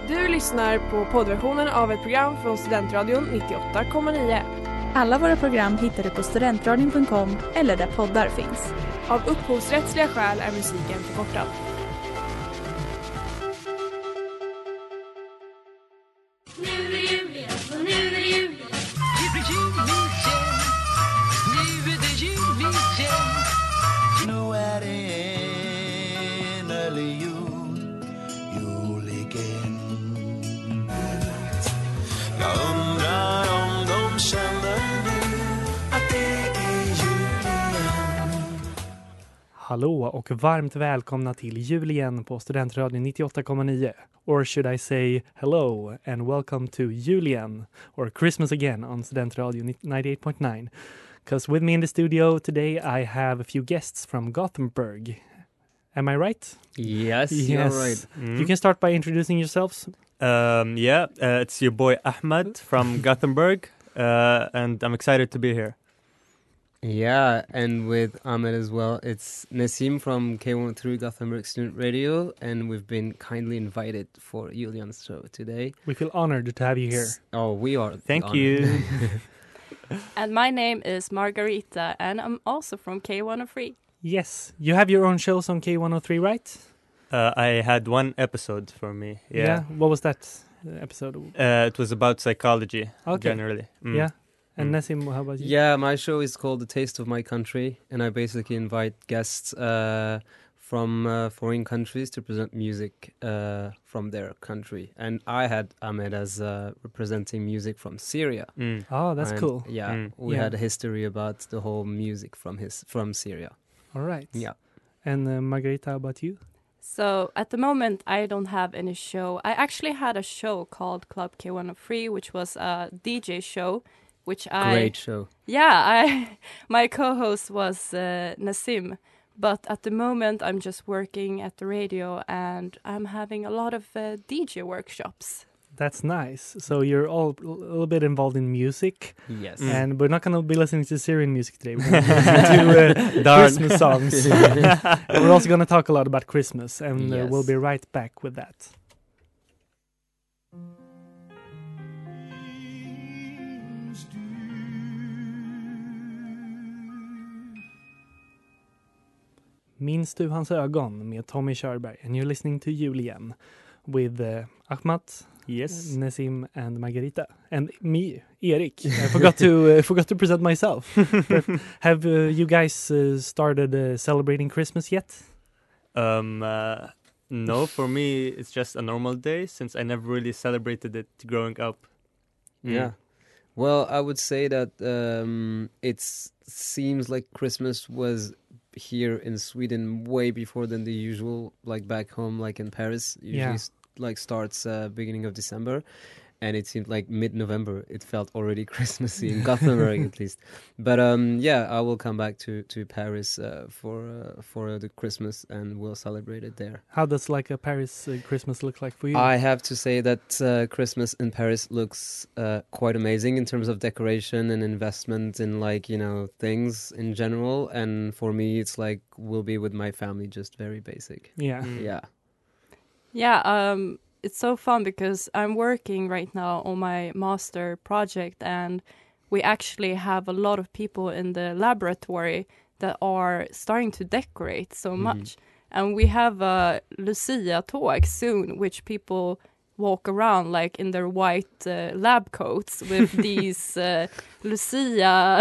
Du lyssnar på poddversionen av ett program från Studentradion 98,9. Alla våra program hittar du på studentradion.com eller där poddar finns. Av upphovsrättsliga skäl är musiken förkortad. Nu är det jul igen, och nu är det jul igen. Nu är det jul igen. Nu är det innerlig jul, jul igen. Jag undrar om de känner nu att det är jul igen. Hallå och varmt välkomna till Jul igen på Studentradion 98,9. Or should I say hello and welcome to Jul igen or Christmas again on Studentradion 98.9. Because with me in the studio today I have a few guests from Gothenburg. Am I right? Yes, you're right. You can start by introducing yourselves. It's your boy Ahmed from Gothenburg, and I'm excited to be here. Yeah, and with Ahmed as well. It's Nassim from K103 Gothenburg Student Radio, and we've been kindly invited for Julian's show today. We feel honored to have you here. Oh, we are. Thank honored. you. And my name is Margarita, and I'm also from K103. Yes, you have your own shows on K103, right? I had one episode for me. Yeah. What was that episode? It was about psychology, Okay. generally. Yeah. And Mm. Nassim, how about you? Yeah, my show is called The Taste of My Country, and I basically invite guests from foreign countries to present music from their country. And I had Ahmed as representing music from Syria. Mm. Oh, that's And, cool. Yeah, we Yeah. had a history about the whole music from Syria. All right. Yeah. And Margarita, how about you? So at the moment, I don't have any show. I actually had a show called Club K103, which was a DJ show, which Great show. my co-host was Nassim. But at the moment, I'm just working at the radio, and I'm having a lot of DJ workshops. That's nice. So you're all a little bit involved in music, Yes. and we're not going to be listening to Syrian music today. We're going to listen to Christmas songs. And we're also going to talk a lot about Christmas, and Yes. we'll be right back with that. Minns du hans ögon med Tommy Körberg, and you're listening to Jul igen with Ahmat, Yes. Nassim and Margarita, and me, Erik. I forgot to present myself. But have you guys started celebrating Christmas yet? No, for me, it's just a normal day since I never really celebrated it growing up. Yeah. Well, I would say that it seems like Christmas was here in Sweden way before than the usual, like back home, like in Paris. Usually like starts beginning of December. And it seemed like mid-November. It felt already Christmassy in Gothenburg, at least. But I will come back to Paris for the Christmas, and we'll celebrate it there. How does like a Paris Christmas look like for you? I have to say that Christmas in Paris looks quite amazing in terms of decoration and investment in things in general. And for me, it's like we'll be with my family, just very basic. Yeah. Yeah. Yeah, it's so fun because I'm working right now on my master project, and we actually have a lot of people in the laboratory that are starting to decorate so much. And we have a Lucia talk soon, which people walk around like in their white lab coats with these Lucia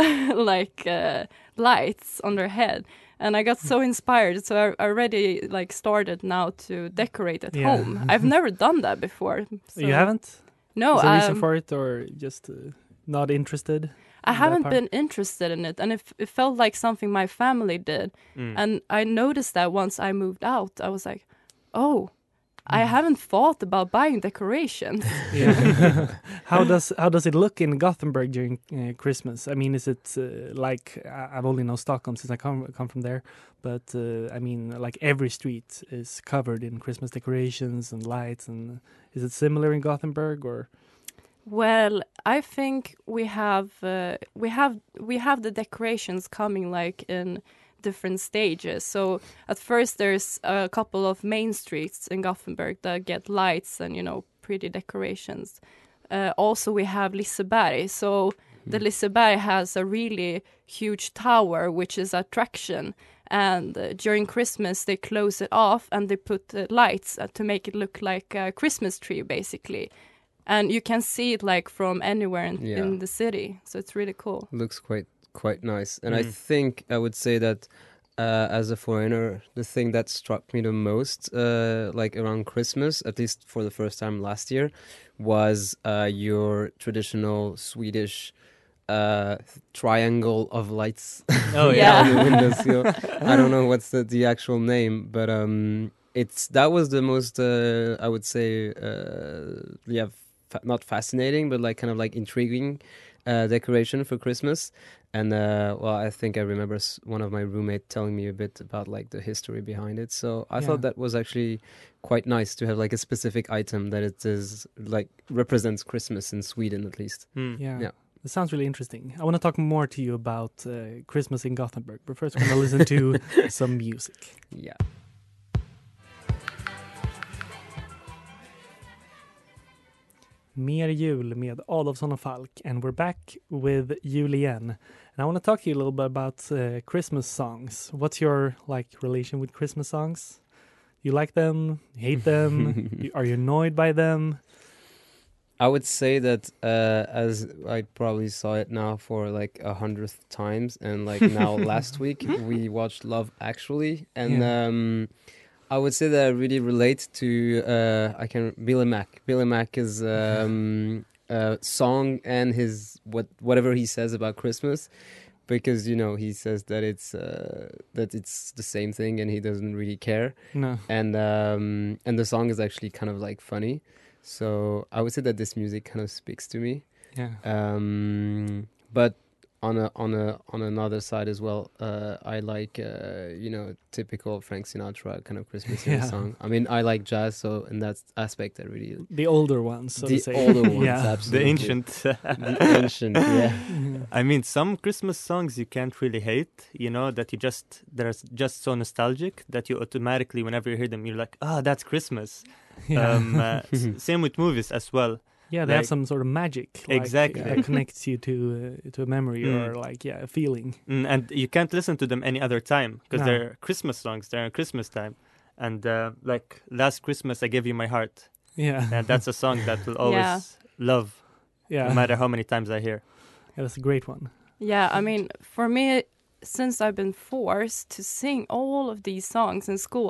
lights on their head. And I got so inspired, so I already started now to decorate at home. I've never done that before. So. You haven't? No. Is there a reason for it, or just not interested? I haven't been interested in it, and it felt like something my family did. And I noticed that once I moved out, I was like, oh, I haven't thought about buying decorations. Yeah. How does it look in Gothenburg during Christmas? I mean, is it like I've only known Stockholm since I come from there, but I mean, like every street is covered in Christmas decorations and lights, and is it similar in Gothenburg or? Well, I think we have the decorations coming like in different stages. So at first there's a couple of main streets in Gothenburg that get lights and pretty decorations. Also, we have Liseberg. So the Liseberg has a really huge tower, which is attraction. And during Christmas, they close it off and they put lights to make it look like a Christmas tree, basically. And you can see it like from anywhere in the city. So it's really cool. Looks quite nice. And I think I would say that as a foreigner, the thing that struck me the most, like around Christmas, at least for the first time last year, was your traditional Swedish triangle of lights. Oh Yeah. on the windowsill. I don't know what's the actual name, but that was the most I would say not fascinating, but like kind of like intriguing decoration for Christmas. And I think I remember one of my roommates telling me a bit about like the history behind it. So I thought that was actually quite nice to have like a specific item that it is like represents Christmas in Sweden at least. Yeah. It sounds really interesting. I want to talk more to you about Christmas in Gothenburg, but first we're going to listen to some music. Yeah. Mer jul med Adolfsson och Falk, and we're back with jul igen. And I want to talk to you a little bit about Christmas songs. What's your like relation with Christmas songs? You like them? You hate them? Are you annoyed by them? I would say that as I probably saw it now for like 100th times, and like now last week we watched Love Actually, and I would say that I really relate to Billy Mack. Billy Mack is song and his whatever he says about Christmas, because you know he says that it's the same thing and he doesn't really care. No. And the song is actually kind of like funny. So I would say that this music kind of speaks to me. Yeah. But on another side as well, I like typical Frank Sinatra kind of Christmas song. I mean, I like jazz, so in that aspect, I really the older ones, so to say. Older ones, Yeah. absolutely. The ancient. The ancient, yeah. I mean, some Christmas songs you can't really hate, you know, that they're just so nostalgic that you automatically, whenever you hear them, you're like, that's Christmas. Yeah. Same with movies as well. Yeah, they have like- some sort of magic. Like, Exactly. that connects you to a memory or like, a feeling. And you can't listen to them any other time because No. they're Christmas songs. They're Christmas time. And like Last Christmas, I Gave You My Heart. Yeah. And that's a song that will always love, Yeah. no matter how many times I hear. Yeah, that's a great one. Yeah, I mean, for me, since I've been forced to sing all of these songs in school,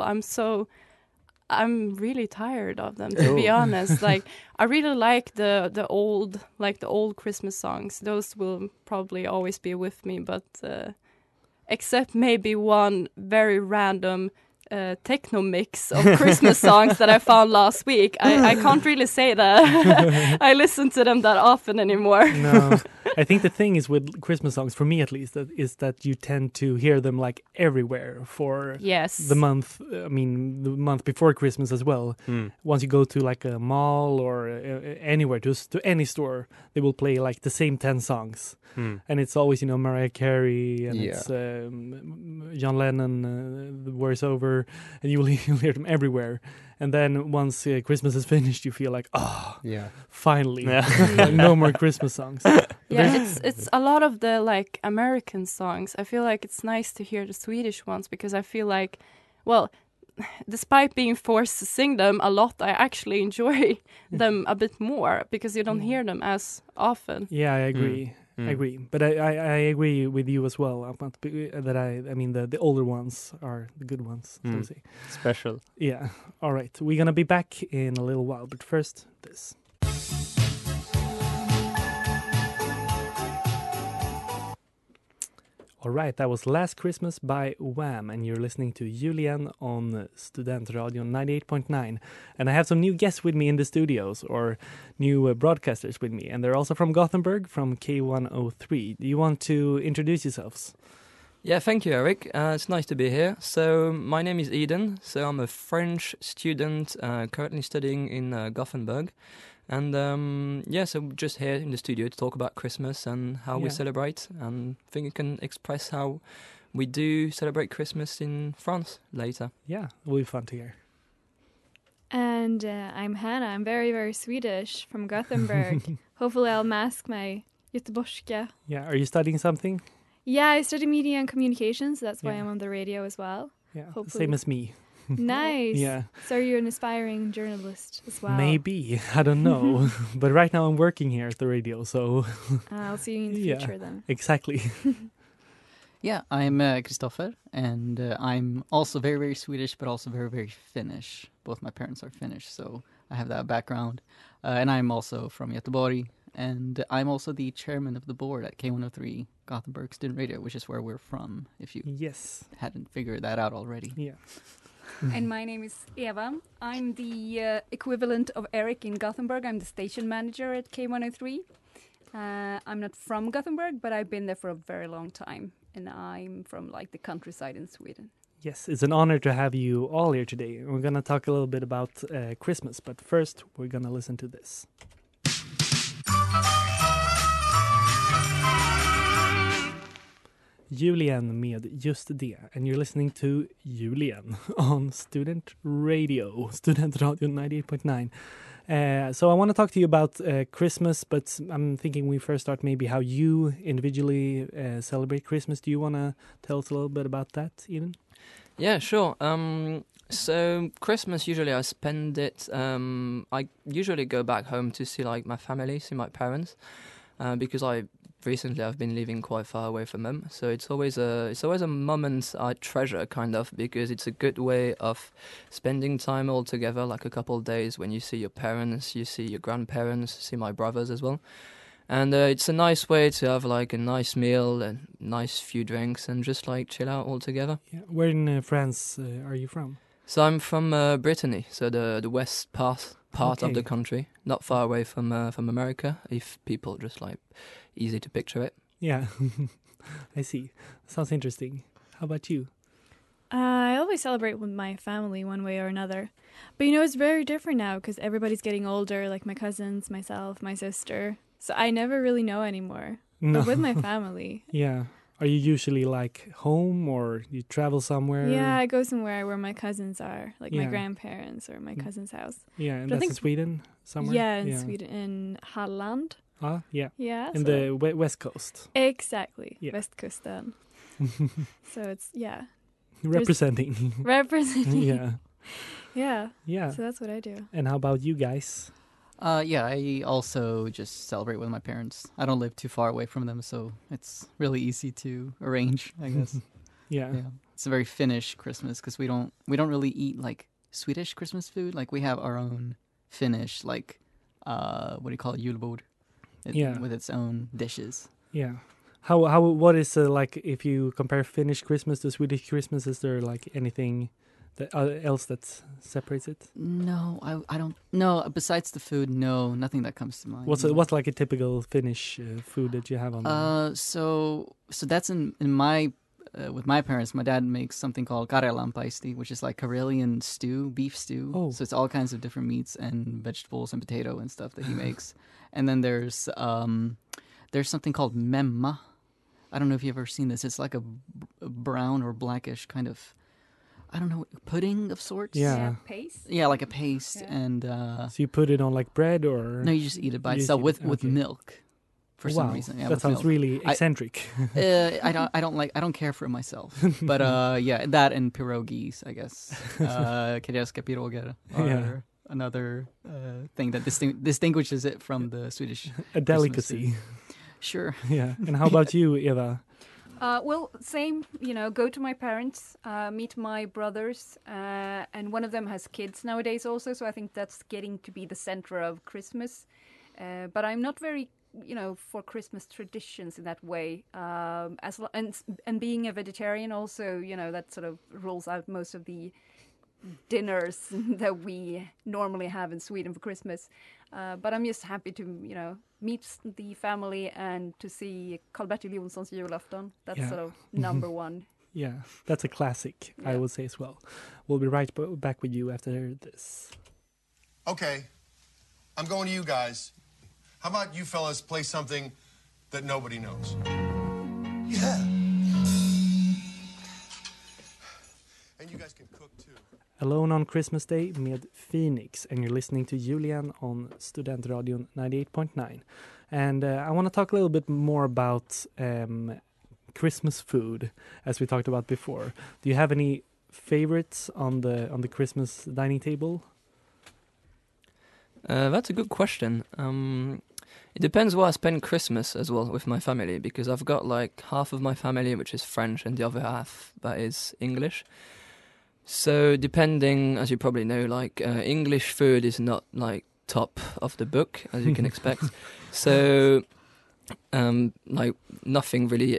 I'm really tired of them, to be honest. Like, I really like the old Christmas songs. Those will probably always be with me, but except maybe one very random techno mix of Christmas songs that I found last week. I can't really say that I listen to them that often anymore. No, I think the thing is with Christmas songs, for me at least, is that you tend to hear them like everywhere for Yes. the month. I mean, the month before Christmas as well. Once you go to like a mall or anywhere, to any store, they will play like the same 10 songs. And it's always, Mariah Carey and it's John Lennon, The War's Over, and you'll hear them everywhere. And then once Christmas is finished, you feel like, finally, no more Christmas songs. Yeah, it's a lot of the like American songs. I feel like it's nice to hear the Swedish ones because I feel like, well, despite being forced to sing them a lot, I actually enjoy them a bit more because you don't hear them as often. Yeah, I agree. I agree, but I agree with you as well. That I mean the older ones are the good ones. So to say. Special. Yeah. All right, we're gonna be back in a little while, but first this. All right, that was Last Christmas by Wham, and you're listening to Julian on Studentradion 98.9. And I have some new guests with me in the studios, or new broadcasters with me, and they're also from Gothenburg, from K103. Do you want to introduce yourselves? Yeah, thank you, Eric. It's nice to be here. So my name is Eden. So I'm a French student currently studying in Gothenburg. And so we're just here in the studio to talk about Christmas and how we celebrate. And I think you can express how we do celebrate Christmas in France later. Yeah, it will be fun to hear. And I'm Hannah. I'm very, very Swedish from Gothenburg. Hopefully I'll mask my göteborgska. Yeah, are you studying something? Yeah, I study media and communications. So that's why Yeah. I'm on the radio as well. Yeah, Hopefully. same as me. Nice. Yeah. So you're an aspiring journalist as well. Maybe, I don't know. But right now I'm working here at the radio, so I'll see you in the Yeah. future then. exactly. Yeah, I'm Christopher, and I'm also very, very Swedish, but also very, very Finnish. Both my parents are Finnish, so I have that background. And I'm also from Göteborg, and I'm also the chairman of the board at K103 Gothenburg Student Radio, which is where we're from, if you Yes. hadn't figured that out already. Yeah. And my name is Eva. I'm the equivalent of Eric in Gothenburg. I'm the station manager at K103. I'm not from Gothenburg, but I've been there for a very long time. And I'm from like the countryside in Sweden. Yes, it's an honor to have you all here today. We're going to talk a little bit about Christmas, but first we're going to listen to this. Julian med Just det, and you're listening to Julian on Student Radio, Student Radio 98.9. So I want to talk to you about Christmas, but I'm thinking we first start maybe how you individually celebrate Christmas. Do you want to tell us a little bit about that, Eden? Yeah, sure. So Christmas, usually I spend it, I usually go back home to see like my family, see my parents, because I've been living quite far away from them. So it's always a moment I treasure, kind of, because it's a good way of spending time all together, like a couple of days when you see your parents, you see your grandparents, see my brothers as well. And it's a nice way to have like a nice meal and nice few drinks and just like chill out all together. Yeah. Where in France are you from? So I'm from Brittany, so the west part Okay. of the country, not far away from America. If people just like easy to picture it. Yeah, I see. Sounds interesting. How about you? I always celebrate with my family one way or another. But it's very different now because everybody's getting older, like my cousins, myself, my sister. So I never really know anymore. No. But with my family. Yeah. Are you usually like home or you travel somewhere? Yeah, I go somewhere where my cousins are, like my Yeah. grandparents or my cousin's house. Yeah, and But I that's think- in Sweden somewhere? Yeah, in Sweden, in Halland. Ah, yeah. Yeah. In the West Coast. Exactly. Yeah. Västkusten. So it's, yeah. Representing. Representing. Yeah. Yeah. Yeah. So that's what I do. And how about you guys? Yeah, I also just celebrate with my parents. I don't live too far away from them, so it's really easy to arrange, I guess. Yeah. It's a very Finnish Christmas because we don't really eat like Swedish Christmas food. Like we have our own Finnish, like what do you call it, julbord, Yeah. with its own dishes. Yeah. What is like if you compare Finnish Christmas to Swedish Christmas? Is there like anything that else that separates it? No, I don't. No, besides the food, no, nothing that comes to mind. What's like a typical Finnish food that you have on? So that's in my with my parents. My dad makes something called karjalanpaisti, which is like Karelian stew, beef stew. Oh. So it's all kinds of different meats and vegetables and potato and stuff that he makes. And then there's something called memma. I don't know if you've ever seen this. It's like a brown or blackish kind of, I don't know, pudding of sorts. Yeah. Paste? Yeah, like a paste. Yeah. And So you put it on like bread or? no, you just eat it by You just itself eat with it, okay. milk. For some Wow, reason, yeah, that with sounds milk. really eccentric. I don't care for it myself. But yeah, that and pierogies, I guess. Kielska piroger are Yeah. another thing that distinguishes it from the Swedish A delicacy. Christmas food. Sure. Yeah. And how about you, Eva? Well, same, go to my parents, meet my brothers, and one of them has kids nowadays also, so I think that's getting to be the center of Christmas. But I'm not very, for Christmas traditions in that way. And being a vegetarian also, that sort of rules out most of the dinners that we normally have in Sweden for Christmas. But I'm just happy to, meet the family and to see Karl-Bertil Jonsson's julafton. That's Yeah. sort of number one. Yeah, that's a classic, I Yeah. would say as well. We'll be right back with you after this. Okay, I'm going to you guys. How about you fellas play something that nobody knows? Yeah. And you guys can cook too. Alone on Christmas Day med Phoenix, and you're listening to Julian on Studentradion 98.9. And I want to talk a little bit more about Christmas food, as we talked about before. Do you have any favorites on the Christmas dining table? That's a good question. It depends where I spend Christmas as well with my family, because I've got like half of my family which is French and the other half that is English. So depending, as you probably know, like English food is not like top of the book, as you can expect. So like nothing really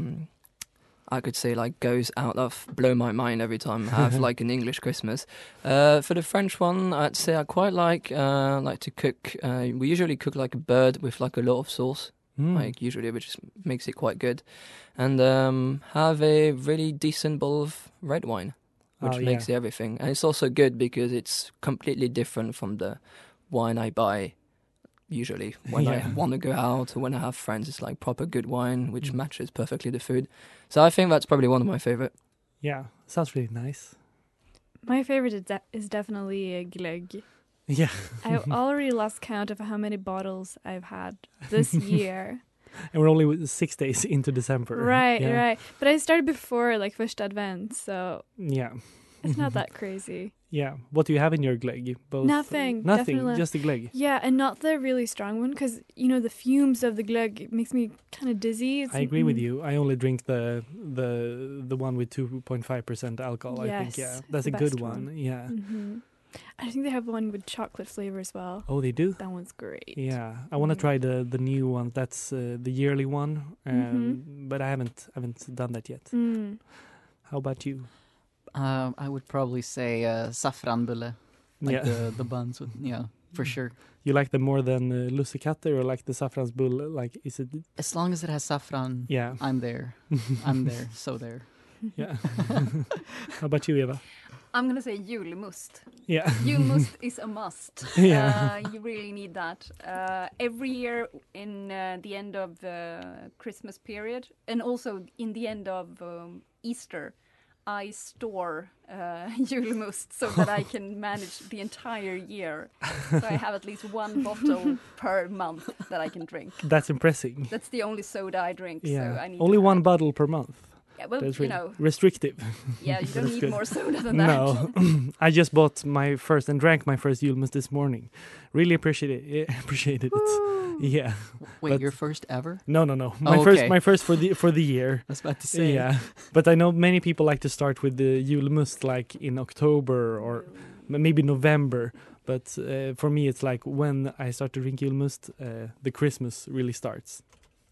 I could say like goes out of blow my mind every time I have like an English Christmas. For the French one, I'd say I quite like to cook. We usually cook like a bird with like a lot of sauce, like usually, which makes it quite good, and have a really decent bowl of red wine, which makes everything. And it's also good because it's completely different from the wine I buy usually when I want to go out or when I have friends. It's like proper good wine, which matches perfectly the food. So I think that's probably one of my favorite. Yeah, sounds really nice. My favorite is definitely a glögg. Yeah. I've already lost count of how many bottles I've had this year. And we're only 6 days into December. Right. But I started before like Första Advent, so yeah, it's not that crazy. Yeah. What do you have in your glögg? Both Nothing. Definitely. Just the glögg. Yeah, and not the really strong one, because the fumes of the glögg makes me kind of dizzy. I agree with you. I only drink the one with 2.5% alcohol. Yes, I think that's a the good best one. Yeah. Mm-hmm. I think they have one with chocolate flavor as well. Oh, they do? That one's great. Yeah, I want to try the new one. That's the yearly one, but I haven't done that yet. How about you? I would probably say saffranbulle, like the buns with, for sure. You like them more than lussekatter, or like the saffransbulle? Like, is it? As long as it has saffron, I'm there. I'm there, so there. Yeah. How about you, Eva? I'm going to say julmust. Yeah. Julmust is a must. Yeah. You really need that. Every year in the end of the Christmas period, and also in the end of Easter, I store julmust so that I can manage the entire year. So I have at least one bottle per month that I can drink. That's impressive. That's the only soda I drink. Yeah. So I need only one bottle per month. Yeah, well, that's really restrictive. Yeah, you don't need good. more soda than that. No, I just bought my first and drank my first julmust this morning. Really appreciated it. Yeah. Wait, your first ever? No. My first for the year. I was about to say. Yeah, but I know many people like to start with the julmust like in October or maybe November. But for me, it's like when I start to drink julmust, the Christmas really starts.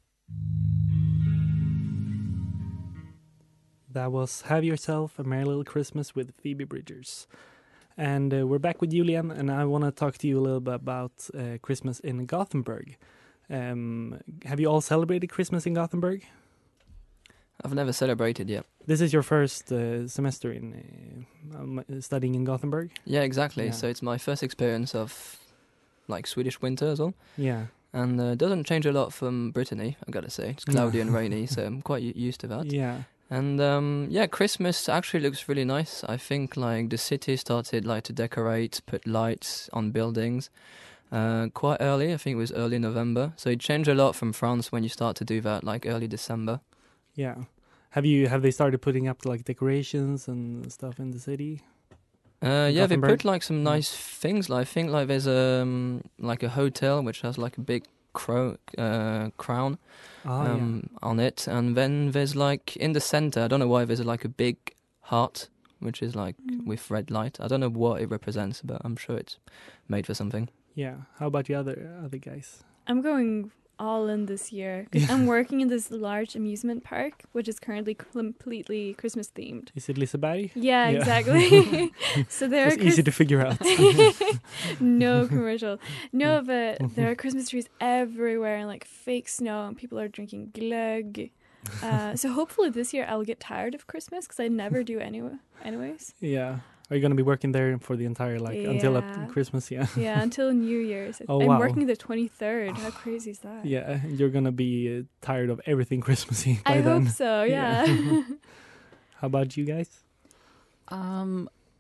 That was Have Yourself a Merry Little Christmas with Phoebe Bridgers. And we're back with Julian, and I want to talk to you a little bit about Christmas in Gothenburg. Have you all celebrated Christmas in Gothenburg? I've never celebrated yet. This is your first semester in studying in Gothenburg? Yeah, exactly. Yeah. So it's my first experience of like Swedish winter as well. Yeah. And it doesn't change a lot from Brittany, I gotta say. It's cloudy and rainy, so I'm quite used to that. Yeah. And Christmas actually looks really nice. I think like the city started like to decorate, put lights on buildings quite early. I think it was early November. So it changed a lot from France when you start to do that like early December. Yeah. Have they started putting up like decorations and stuff in the city? Yeah, they put like some nice things. Like I think like there's like a hotel which has like a big crown on it, and then there's like in the center, I don't know why, there's like a big heart which is like with red light. I don't know what it represents, but I'm sure it's made for something. Yeah. How about the other guys? I'm going all in this year, 'cause I'm working in this large amusement park which is currently completely Christmas themed. Is it Liseberg? Yeah, exactly. So there it's easy to figure out. No commercial. No, but there are Christmas trees everywhere and like fake snow, and people are drinking glögg. So hopefully this year I'll get tired of Christmas, because I never do anyways. Yeah. Are you going to be working there for the entire until Christmas? Yeah. Yeah, until New Year's. Oh, I'm working the 23rd. How crazy is that? Yeah, you're going to be tired of everything Christmassy by I then. hope so, yeah. How about you guys?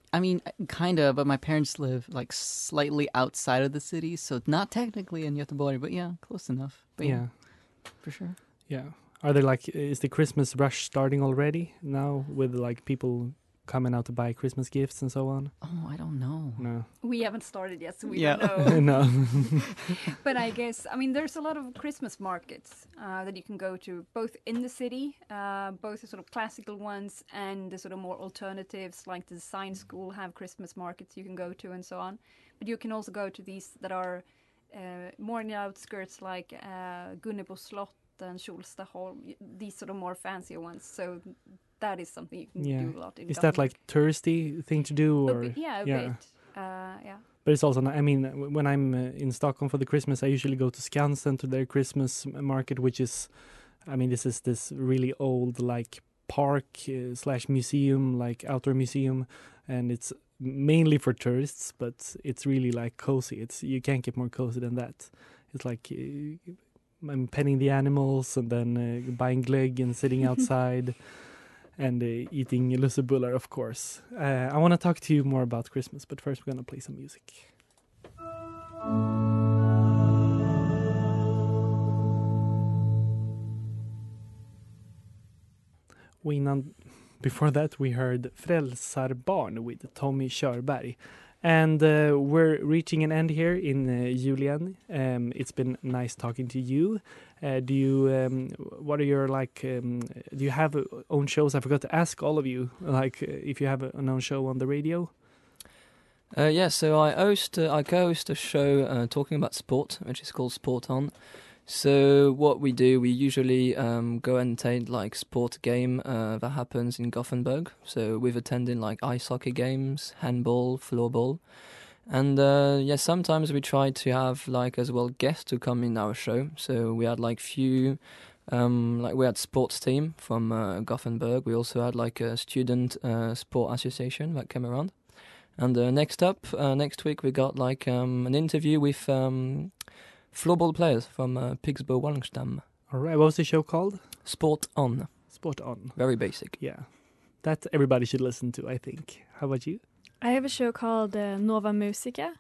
I mean, kind of, but my parents live like slightly outside of the city, so not technically in Göteborg, but yeah, close enough. But Yeah. for sure. Yeah. Are there like, is the Christmas rush starting already now with like people coming out to buy Christmas gifts and so on? Oh, I don't know. No. We haven't started yet, so we Yeah. don't know. No. But I guess, I mean, there's a lot of Christmas markets that you can go to, both in the city, both the sort of classical ones and the sort of more alternatives, like the design school have Christmas markets you can go to and so on. But you can also go to these that are more in the outskirts, like Gunnebo Slott and Kjolstaholm, these sort of more fancier ones. So that is something you can do a lot in Is that Gothenburg. like touristy thing to do? Or A bit. Yeah. But it's also, I mean, when I'm in Stockholm for the Christmas, I usually go to Skansen to their Christmas market, which is, I mean, this is this really old like park slash museum, like outdoor museum, and it's mainly for tourists, but it's really like cozy. It's, you can't get more cozy than that. It's like I'm petting the animals and then buying glögg and sitting outside. And eating lussebullar, of course. I want to talk to you more about Christmas, but first we're going to play some music. Before that, we heard Frälsarbarn with Tommy Körberg. And we're reaching an end here in Julian. It's been nice talking to you. Do you, what are your like, do you have own shows? I forgot to ask all of you, like if you have an own show on the radio. Yeah, so I co-host a show talking about sport, which is called Sport On. So what we do, we usually go and attend like sport game that happens in Gothenburg. So we've attended like ice hockey games, handball, floorball. And sometimes we try to have like as well guests to come in our show. So we had like few, like we had sports team from Gothenburg. We also had like a student sport association that came around. And next week we got like an interview with floorball players from Pigsbo Wallenstam. All right, what was the show called? Sport On. Sport On. Very basic. Yeah, that everybody should listen to, I think. How about you? I have a show called Nova Musica,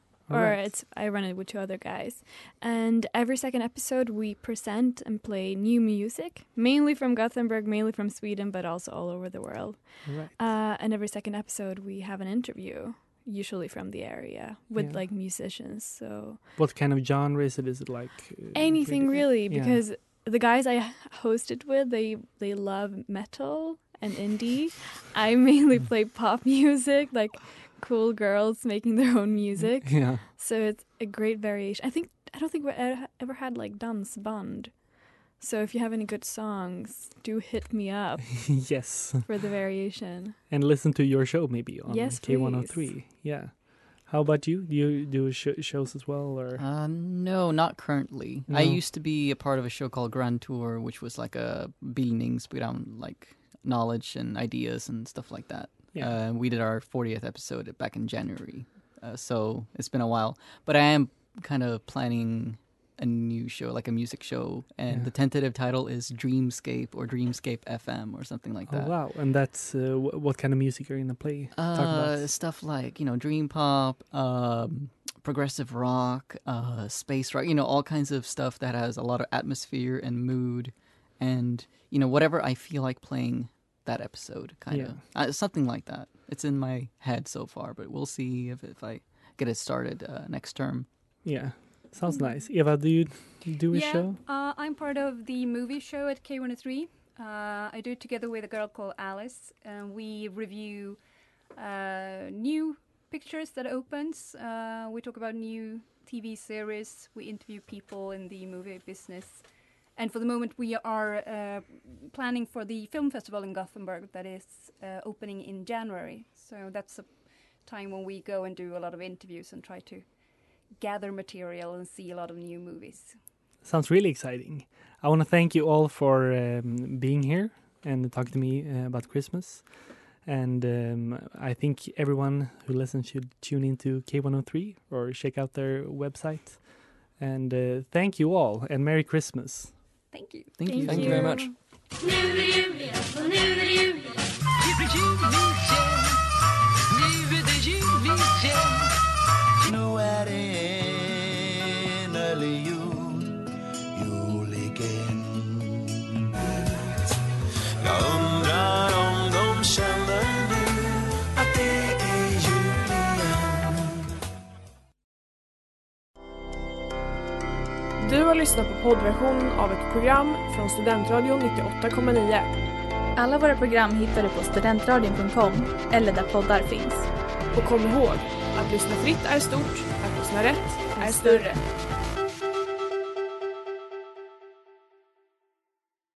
I run it with 2 other guys. And every second episode we present and play new music, mainly from Gothenburg, mainly from Sweden, but also all over the world. Right. And every second episode we have an interview, usually from the area, with like musicians. So what kind of genre is it? Is it like anything really? Because the guys I hosted with, they love metal and indie. I mainly play pop music, like cool girls making their own music. Yeah. So it's a great variation. I don't think we ever had like dansband. So if you have any good songs, do hit me up. Yes. For the variation. And listen to your show maybe on yes, K103. Please. Yeah. How about you? Do you do shows as well, or? No, not currently. No. I used to be a part of a show called Grand Tour, which was like a bildningsprogram, like knowledge and ideas and stuff like that. Yeah. We did our 40th episode back in January, so it's been a while. But I am kind of planning a new show, like a music show, and the tentative title is Dreamscape or Dreamscape FM or something like that. Oh, wow. And that's what kind of music are you going to play? Talk about? Stuff like, dream pop, progressive rock, space rock, all kinds of stuff that has a lot of atmosphere and mood and, whatever I feel like playing that episode, kind of. Something like that. It's in my head so far, but we'll see if I get it started next term. Yeah. Sounds nice. Eva, do you do a show? I'm part of the movie show at K103. I do it together with a girl called Alice. We review new pictures that opens. We talk about new TV series. We interview people in the movie business. And for the moment, we are planning for the film festival in Gothenburg that is opening in January. So that's a time when we go and do a lot of interviews and try to gather material and see a lot of new movies. Sounds really exciting. I want to thank you all for being here and talking to me about Christmas. And I think everyone who listens should tune into K103 or check out their website. And thank you all, and Merry Christmas. Thank you. Thank you. Thank you very much. Nu är det jul igen, och nu är det jul igen. Nu är det jul igen. Nu är det Du har lyssnat på poddversionen av ett program från Studentradion 98,9. Alla våra program hittar du på studentradion.com eller där poddar finns. Och kom ihåg, att lyssna fritt är stort, att lyssna rätt är större.